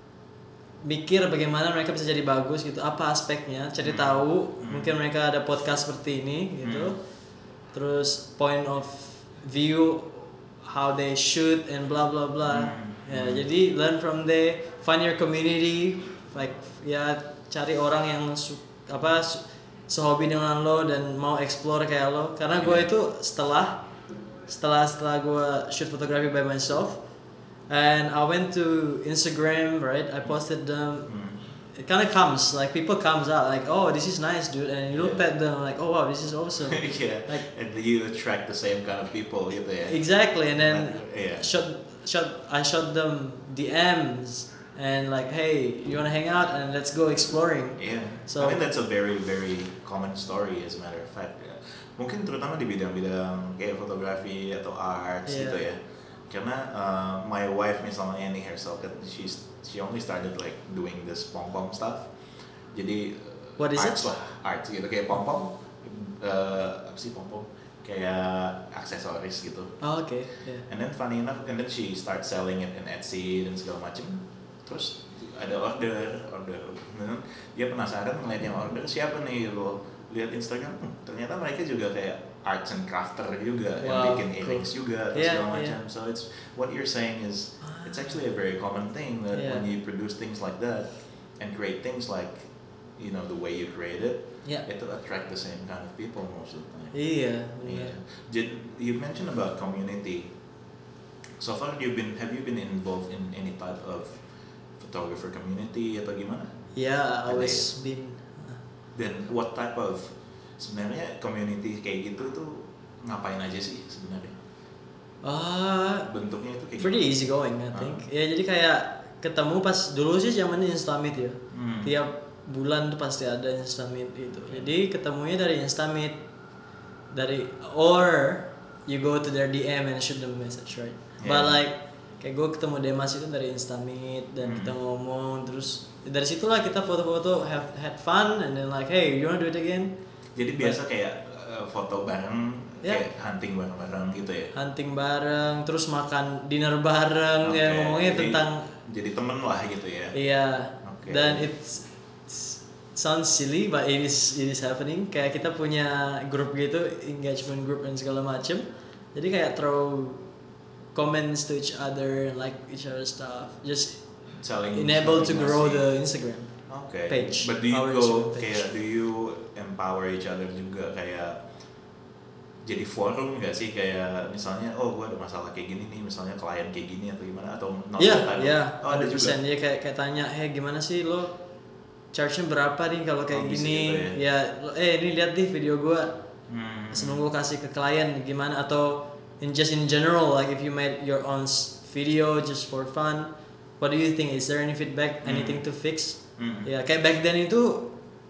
mikir bagaimana mereka bisa jadi bagus gitu. Apa aspeknya? Cari tahu. Hmm. Mungkin mereka ada podcast seperti ini gitu. Hmm. Terus point of view how they shoot and blah blah blah. Hmm. Ya Hmm. jadi learn from there. Find your community. Like ya cari orang yang su- apa su- sehobi dengan lo dan mau explore kayak lo karena gue Yeah. itu setelah setelah setelah gue shoot photography by myself and I went to Instagram, right? I posted them. Hmm. It kind of comes like people comes out like, oh, this is nice, dude, and you look Yeah. at them like, oh wow, this is awesome. Yeah. Like And you attract the same kind of people gitu ya. exactly, and then Yeah. shot shot I shot them D Ms and like, hey, you wanna hang out and let's go exploring. Yeah, So- I mean that's a very very common story as a matter of fact. Ya. Mungkin terutama di bidang-bidang kayak fotografi atau arts Yeah. gitu ya. Karena uh, my wife misalnya Annie herself, kan, she's she only started like doing this pom pom stuff. Jadi uh, What is arts it? lah, arts gitu kayak pom pom. Uh, apa sih pom pom? Kayak aksesoris gitu. Oh, okay, yeah. And then funny enough, and then she starts selling it in Etsy dan segala macem. Terus ada order, order. Dan dia penasaran ngeliat yang order siapa nih lo lihat Instagram, hmm, ternyata mereka juga kayak arts and crafter juga yang Wow, bikin cool. earrings juga atau Yeah, segala yeah. macam. So it's what you're saying is it's actually a very common thing that Yeah. when you produce things like that and create things like you know the way you create it, Yeah. it will attract the same kind of people most of the time. Iya, benar. Yeah. Did you mentioned about community? So far, you've been have you been involved in any type of photographer community atau gimana? Yeah, I Ada was been Dan what type of sebenarnya community kayak gitu tuh ngapain aja sih sebenarnya? ah Bentuknya itu kayak pretty gimana? easy going, I Ah. think. Ya jadi kayak ketemu pas dulu sih zamannya Instamit ya. Hmm. Tiap bulan tuh pasti ada Instamit gitu. Jadi ketemunya dari Instamit, dari or you go to their D M and shoot them message, right? Yeah. But like kayak gue ketemu Demas itu dari Instamit dan Hmm. kita ngomong terus dari situlah kita foto-foto have had fun and then like, hey, you wanna do it again? Jadi biasa kayak uh, foto bareng, Yeah. kayak hunting bareng-bareng gitu ya? Hunting bareng, terus makan dinner bareng, ya Oke, ngomongnya jadi- tentang jadi temen lah gitu ya? iya. Oke. Dan it's, it's sounds silly but it is it is happening. Kayak kita punya grup gitu, engagement group dan segala macem. Jadi kayak throw comments to each other and like each other stuff. Just Saling enable to saling grow ngasih. the Instagram. Okay. page, But do you our go Instagram page. kayak do you empower each other juga kayak jadi forum nggak sih kayak misalnya oh gue ada masalah kayak gini nih misalnya klien kayak gini atau gimana atau not Iya, that type of- iya, oh, ada juga. one hundred percent. Dia kayak kayak tanya, "Hey, gimana sih lo charge-nya berapa nih kalau kayak Oh, bisa gini?" gitu ya, lo- eh ini lihat nih video gua. Hmm. Sebelum gua kasih ke klien gimana atau in just in general like if you made your own s- video just for fun, what do you think? Is there any feedback? Hmm. Anything to fix? Hmm. Ya, kayak back then itu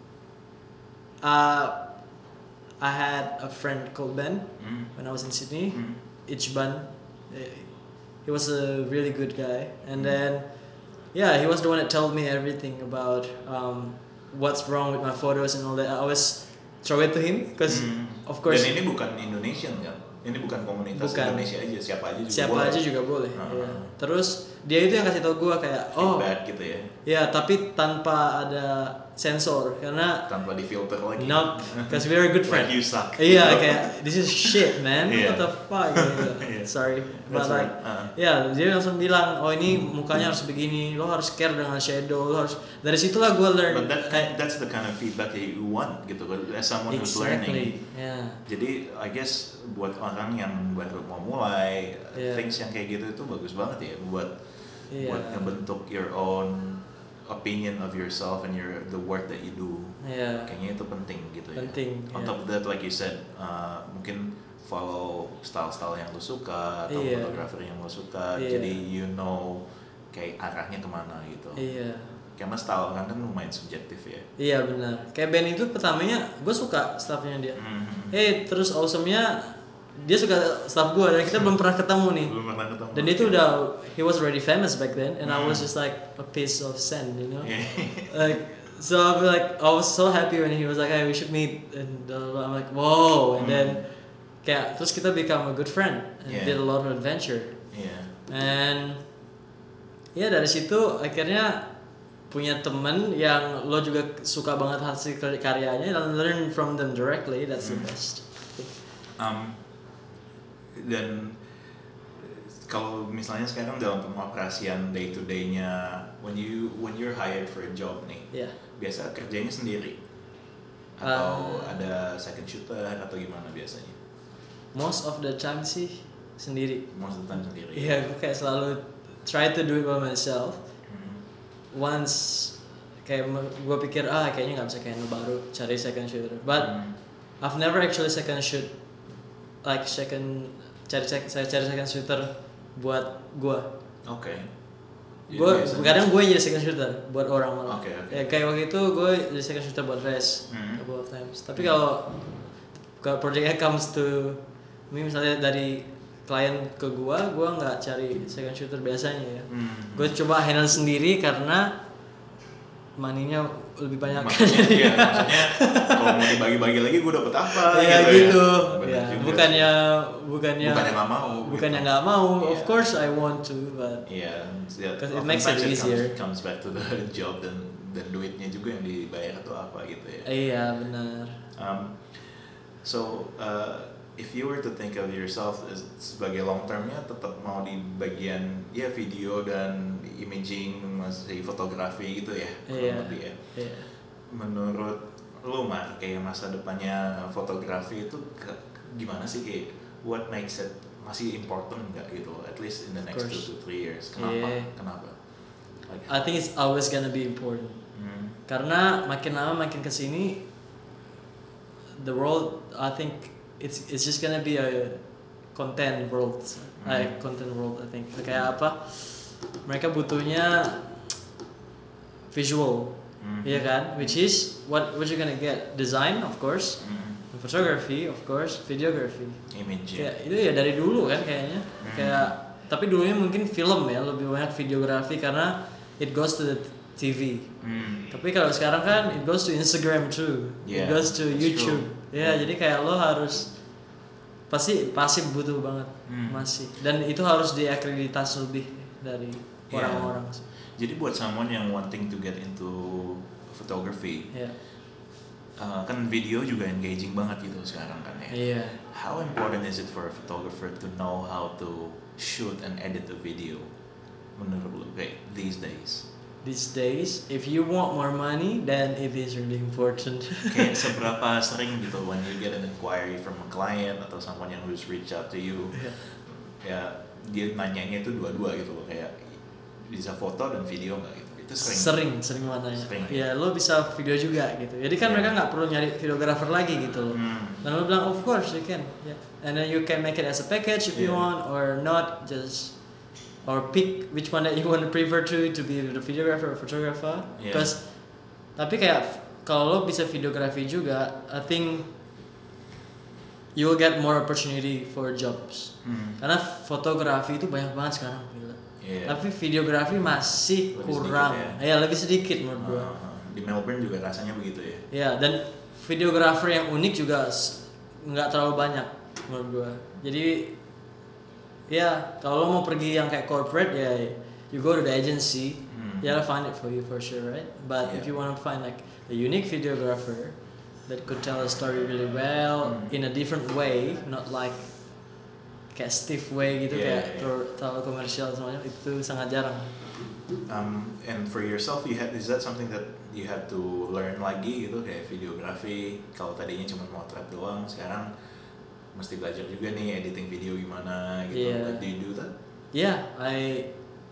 uh, I had a friend called Ben Hmm. when I was in Sydney. Hmm. Ichban. Eh, he was a really good guy, and then yeah, he was the one that told me everything about um, what's wrong with my photos and all that. I always throw it to him because Hmm. of course Dan ini bukan Indonesian kan? Ini bukan komunitas Bukan. Indonesia aja, siapa aja juga siapa boleh. aja juga boleh. Ah. Iya. Terus dia itu yang kasih tau gue kayak oh Feedback gitu ya, ya, tapi tanpa ada sensor karena tanpa difilter lagi. nope, because we're a good friend. Like you suck. Iya, gitu. kayak this is shit man, Iya. what the fuck gitu. Iya. Sorry, but That's like right. Uh. ya dia langsung bilang oh ini mukanya harus begini, lo harus care dengan shadow, lo harus dari situlah gue learn. But that kayak that's the kind of feedback that you want gitu kan, as someone who's learning. exactly, ya. Jadi I guess buat orang yang baru mau mulai, Yeah. things yang kayak gitu itu bagus banget ya buat Iya. buat ngebentuk your own opinion of yourself and your the work that you do. Iya. Kayaknya itu penting gitu ya. Penting, On yeah. top of that, like you said, uh, mungkin follow style-style yang lo suka atau Iya. fotografer yang lo suka. Iya. Jadi you know kayak arahnya kemana gitu. Iya. Karena style orang kan lumayan subjektif ya. Iya benar. Kayak band itu pertamanya gue suka staffnya dia. Mhm. Eh terus awesome-nya dia suka staff gue dan kita belum pernah ketemu nih. Belum pernah ketemu. Dan itu udah he was already famous back then and I was Hmm. just like a piece of sand, you know. Yeah. Like so I was like I was so happy when he was like hey we should meet and uh, I'm like whoa and Hmm. then kayak terus kita become a good friend and Yeah. did a lot of adventure Yeah. and ya dari situ akhirnya punya temen yang lo juga suka banget hasil karyanya dan learn from them directly, that's the Hmm. best. Um, dan kalau misalnya sekarang dalam pengoperasian day to day-nya, when you when you're hired for a job nih, Ya. biasa kerjanya sendiri atau Uh, ada second shooter atau gimana biasanya? Most of the time sih sendiri. Most of the time sendiri. Iya, gue kayak selalu try to do it by myself. Hmm. Once kayak gue pikir ah kayaknya nggak bisa kayak lo baru cari second shooter. But Hmm. I've never actually second shoot like second cari sec- saya cari second shooter buat gue. Oke. Jadi Gue biasanya- kadang gue jadi second shooter buat orang malah. Oke, oke. Ya, kayak waktu itu gue jadi second shooter buat Res Hmm. couple of times. Tapi kalau kalau projectnya comes to me misalnya dari klien ke gue, gue nggak cari second shooter biasanya ya. Hmm. Gue coba handle sendiri karena maninya lebih banyak. Maksudnya, iya, maksudnya kalau mau dibagi-bagi lagi gue dapet apa? Iya gitu. gitu. Ya. Bener Ya, juga bukannya sih. bukannya bukannya nggak mau. bukannya gitu. nggak mau. Of Iya. course I want to, but Iya, yeah, 'Cause it makes it comes, easier. comes back to the job dan dan duitnya juga yang dibayar atau apa gitu ya. iya benar. Um, so uh, if you were to think of yourself as sebagai long termnya, tetap mau di bagian ya video dan imaging, masih fotografi gitu ya, kurang Iya. lebih ya. Iya. Menurut lu Mar, kayak masa depannya fotografi itu ke, gimana sih, kayak what makes it masih important nggak gitu, at least in the next Of two course. to three years? Kenapa? Yeah. Kenapa? Like, I think it's always gonna be important. hmm, Karena makin lama makin kesini, the world I think it's it's just gonna be a content world, like content world I think. Kayak apa? Mereka butuhnya visual, hmm, iya kan? Which is what what you gonna get? Design of course, hmm, photography of course, videography. image ya. Kayak itu ya dari dulu kan kayaknya. Hmm. Kayak tapi dulunya mungkin film ya lebih banyak videografi karena it goes to the T V. Hmm. Tapi kalau sekarang kan it goes to Instagram too, Yeah, it goes to that's YouTube. true. Ya Yeah. jadi kayak lo harus pasti pasti butuh banget Hmm. masih. Dan itu harus diakreditasi lebih dari Yeah. orang-orang sih. Jadi buat someone yang wanting to get into photography, Ya. uh, kan video juga engaging banget gitu sekarang kan ya. Iya. How important is it for a photographer to know how to shoot and edit a video? Menurut lu kayak these days? These days, if you want more money, then it is really important. Kayak seberapa sering gitu when you get an inquiry from a client atau someone yang who's reach out to you, Yeah. ya dia nanyanya itu dua-dua gitu loh, kayak bisa foto dan video nggak gitu? Itu sering. Sering, sering mananya. Sering. Ya lo bisa video juga gitu. Jadi kan Yeah. mereka nggak perlu nyari videographer lagi gitu loh. Hmm. Dan lo bilang of course you can, yeah. And then you can make it as a package if you Yeah. want or not, just or pick which one that you want to prefer to to be the videographer or photographer. Yeah. Because tapi kayak kalau lo bisa videografi juga, I think you will get more opportunity for jobs. Hmm. Karena fotografi itu banyak banget sekarang, gila. Yeah. Tapi videografi masih Lebih kurang. sedikit Ya. ya lebih sedikit menurut gua. Uh, di Melbourne juga rasanya begitu ya. Ya, dan videografer yang unik juga s- nggak terlalu banyak menurut gua. Jadi ya kalau lo mau pergi yang kayak corporate ya you go to the agency, Hmm. they'll find it for you for sure, right? But if Yeah. you want to find like a unique videographer that could tell a story really well Hmm. in a different way, not like kayak stiff way gitu, Yeah, kayak yeah. ter- terlalu komersial semuanya, itu sangat jarang. Um, and for yourself, you had is that something that you had to learn lagi gitu kayak videografi? Kalau tadinya cuma motret doang, sekarang mesti belajar juga nih editing video gimana gitu. Yeah. Like, do you do that? Yeah, I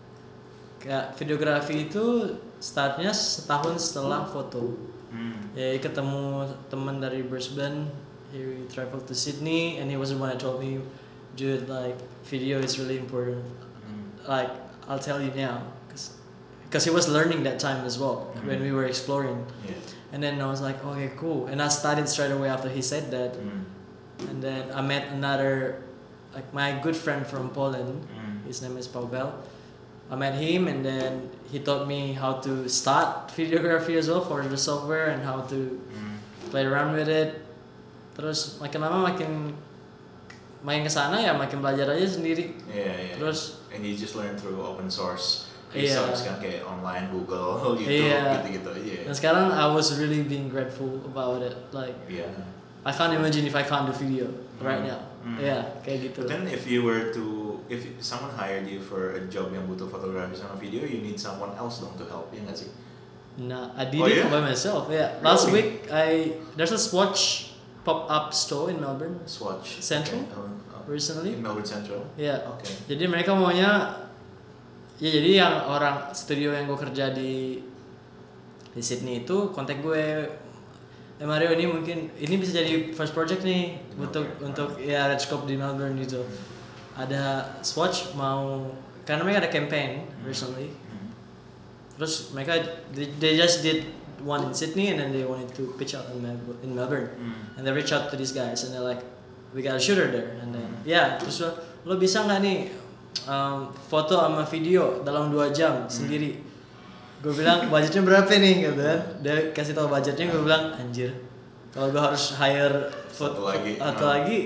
kayak videografi itu startnya setahun setelah foto. Hmm. Ya ketemu teman dari Brisbane, he traveled to Sydney, and he was the one that told me, dude, like video is really important. Hmm. Like I'll tell you now, cause, cause he was learning that time as well Mhm. when we were exploring. Yeah. And then I was like, okay, cool. And I started straight away after he said that. Hmm. And then I met another, like my good friend from Poland. Hmm. His name is Pavel. I met him, and then he taught me how to start videography as well for the software and how to Hmm. play around with it. Terus makin lama makin makin kesana ya makin belajar aja sendiri. Yeah, yeah. Terus and you just learn through open source Iya. resource kan kayak online Google gitu Iya. gitu-gitu aja. dan sekarang I was really being grateful about it. Like Yeah. I can't imagine if I can't do video right Hmm. now. Hmm. Yeah, kayak gitu. But then if you were to if someone hired you for a job yang butuh fotografi sama video, you need someone else dong to help ya nggak sih? Nah, I did Oh, it yeah? by myself. Yeah, last Really? week I there's a Swatch pop-up store in Melbourne Swatch Central? Okay. Oh, oh. recently. In Melbourne Central. Yeah. Oke. Jadi mereka maunya ya jadi yang orang studio yang gue kerja di di Sydney itu kontak gue, eh Mario ini mungkin ini bisa jadi first project nih untuk Okay. untuk ya Redscope di Melbourne gitu. Ada Swatch mau karena mereka ada campaign recently. Hmm. Terus mereka they, they just did one in Sydney and then they wanted to pitch out in Melbourne, in Melbourne. Hmm. And they reach out to these guys and they're like, we got a shooter there. And then ya terus lo, lo bisa nggak nih um, foto sama video dalam dua jam sendiri? Gue bilang budgetnya berapa nih gitu kan? Dia kasih tahu budgetnya, gue bilang anjir. Kalau gue harus hire foto Satu lagi. atau Ah. lagi,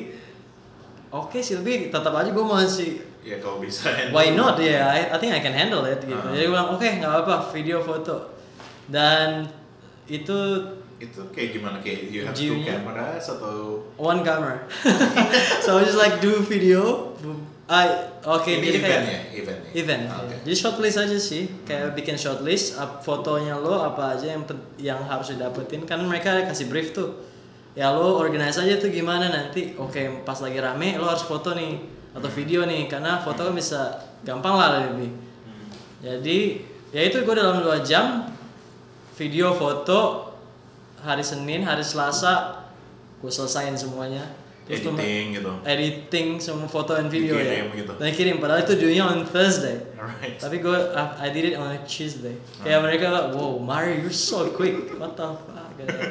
oke sih tapi tetap aja gue masih Ya kalau bisa. handle. why not ya? Yeah, I, I think I can handle it gitu. Ah. Jadi gue bilang oke nggak apa-apa video foto dan itu Itu kayak gimana kayak you have two View-nya. cameras atau one camera. So I just like do video. I oke ini jadi event kayak ya event ya. event. Ah, Oke. ya. Jadi shortlist aja sih. Kayak bikin shortlist up fotonya lo apa aja yang pen- yang harus didapetin kan mereka kasih brief tuh. Ya lo organize aja tuh gimana nanti. Oke pas lagi rame lo harus foto nih atau video nih karena foto kan bisa gampang lah lebih. Hmm. Jadi ya itu gue dalam dua jam video foto hari Senin hari Selasa gue selesain semuanya. Terus tuh Editing gitu. editing semua foto dan video Dikirim ya. gitu. Dan kirim padahal itu dunia on Thursday. Alright. Tapi gue I, I did it on a Tuesday. Kayak mereka wow Mario you're so quick. What the fuck?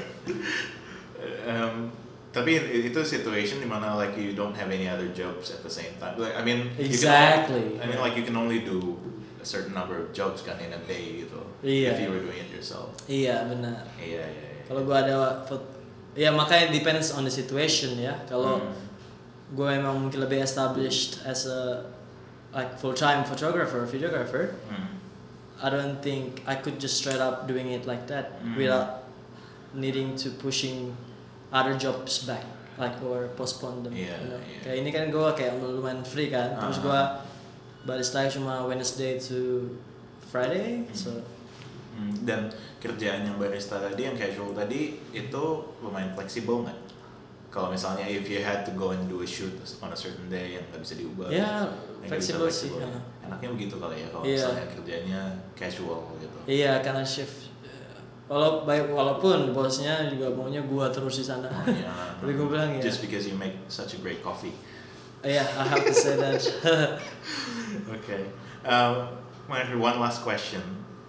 Um, tapi itu situation dimana like you don't have any other jobs at the same time. Like I mean, you can Exactly. only- I mean like you can only do a certain number of jobs kan in a day gitu. Iya. If you were doing it yourself. Iya benar. Iya iya. iya. Kalau gue ada foto, ya makanya depends on the situation ya. Kalau Hmm. gue emang mungkin lebih established as a like full time photographer, videographer, Hmm. I don't think I could just straight up doing it like that Mm. without needing to pushing other jobs back like or postpone them. Yeah, you know? yeah. Kayak ini kan gue kayak lumayan free kan, terus gue Uh-huh. barista cuma Wednesday to Friday, so Hmm, dan kerjaan yang barista tadi, yang casual tadi itu lumayan fleksibel nggak? Kalau misalnya if you had to go and do a shoot on a certain day yang nggak bisa diubah, ya yang nggak bisa fleksibel sih. ya. uh. Enaknya begitu kali ya kalau Iya. misalnya kerjanya casual gitu. Iya karena shift. Walau baik walaupun bosnya juga maunya gua terus di sana. Oh, iya. Tapi gua bilang ya. Just because you make such a great coffee. Iya, I have to say that. Okay. Um, Mark, one last question.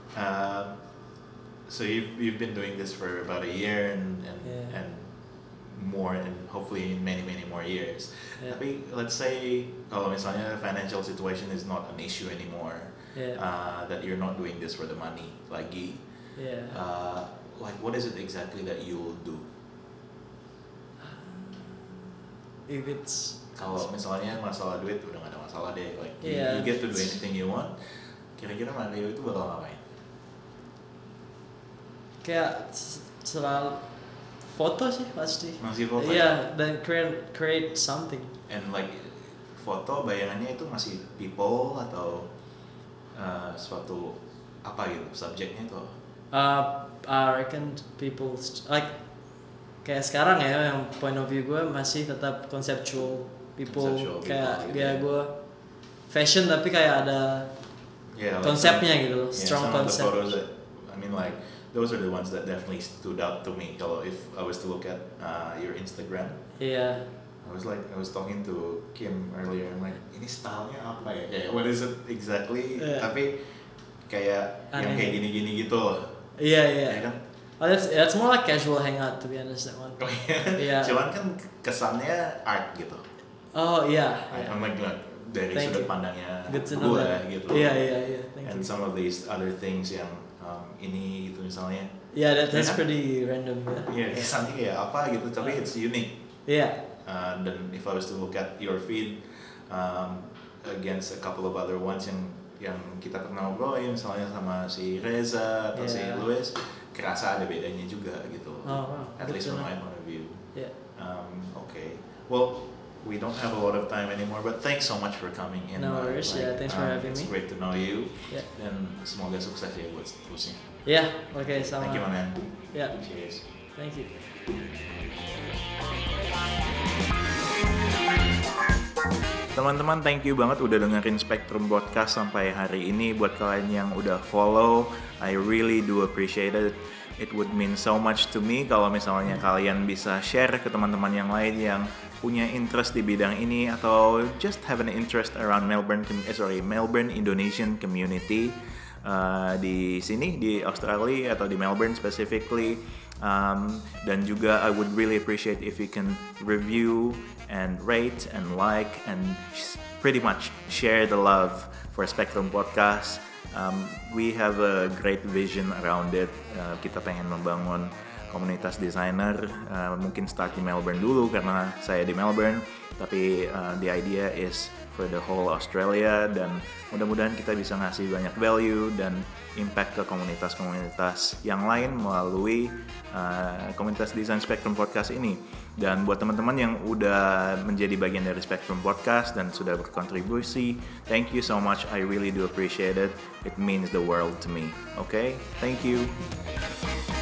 Uh, so you've you've been doing this for about a year and and, Yeah. and more and hopefully in many many more years. Yeah. Tapi let's say kalau misalnya financial situation is not an issue anymore, Yeah. uh, that you're not doing this for the money lagi, Yeah. uh, like what is it exactly that you'll do? If it's Kalau misalnya masalah duit udah gak ada masalah deh, like you- Yeah. you, get to do anything you want. Kira-kira Mario itu bakal ngapain? kayak s- selalu foto sih pasti. Masih foto? Iya, dan create create something. And like foto bayangannya itu masih people atau uh, suatu apa gitu subjeknya itu? Uh, I reckon people st- like kayak sekarang ya yang point of view gue masih tetap conceptual people, Conceptual people, kayak gitu ya ya. gue fashion tapi kayak ada Yeah, like konsepnya some- gitu loh, yeah, strong some of the concept. photos that, I mean like those are the ones that definitely stood out to me. Kalau if I was to look at uh, your Instagram, Iya, I was like I was talking to Kim earlier. I'm like ini stylenya apa ya? Kayak what is it exactly? Yeah. Tapi kayak yang Aneh. kayak gini-gini gitu loh. iya iya. Ya kan? Oh, that's that's more like casual hangout to be honest that one. Oh iya. Iya. Cuman kan kesannya art gitu. Oh iya. iya. I'm like, like dari Thank sudut you. pandangnya Good to know gue that. gitu. Iya iya iya. Thank And you. some of these other things yang um, ini gitu misalnya. Yeah, that, that's Ya kan? pretty random ya. Iya, kesannya kayak apa gitu, tapi it's unique. Iya. Uh, dan if I was to look at your feed um, against a couple of other ones yang yang kita pernah ngobrolin, misalnya sama si Reza atau si Yeah. Louis, kerasa ada bedanya juga gitu. Oh, wow. At Good least to from know. my point of view. Yeah. Um, okay. Well, we don't have a lot of time anymore, but thanks so much for coming in. No Mark. worries, yeah, thanks for um, having it's me. great to know you. Yeah. Dan semoga sukses ya buat seterusnya. Yeah, oke sama. Thank you, my man. Yeah, Cheers. thank you. Teman-teman, thank you banget udah dengerin Spectrum Podcast sampai hari ini. Buat kalian yang udah follow, I really do appreciate it. It would mean so much to me kalau misalnya kalian bisa share ke teman-teman yang lain yang punya interest di bidang ini atau just have an interest around Melbourne, eh, sorry, Melbourne Indonesian community uh, di sini di Australia atau di Melbourne specifically. Um, dan juga I would really appreciate if you can review and rate and like and sh- pretty much share the love for Spectrum Podcast. Um, we have a great vision around it. Uh, kita pengen membangun komunitas desainer, uh, mungkin start di Melbourne dulu karena saya di Melbourne, tapi uh, the idea is for the whole Australia dan mudah-mudahan kita bisa ngasih banyak value dan impact ke komunitas-komunitas yang lain melalui uh, komunitas Desain Spectrum Podcast ini. Dan buat teman-teman yang udah menjadi bagian dari Spectrum Podcast dan sudah berkontribusi, thank you so much. I really do appreciate it. It means the world to me. Okay? Thank you.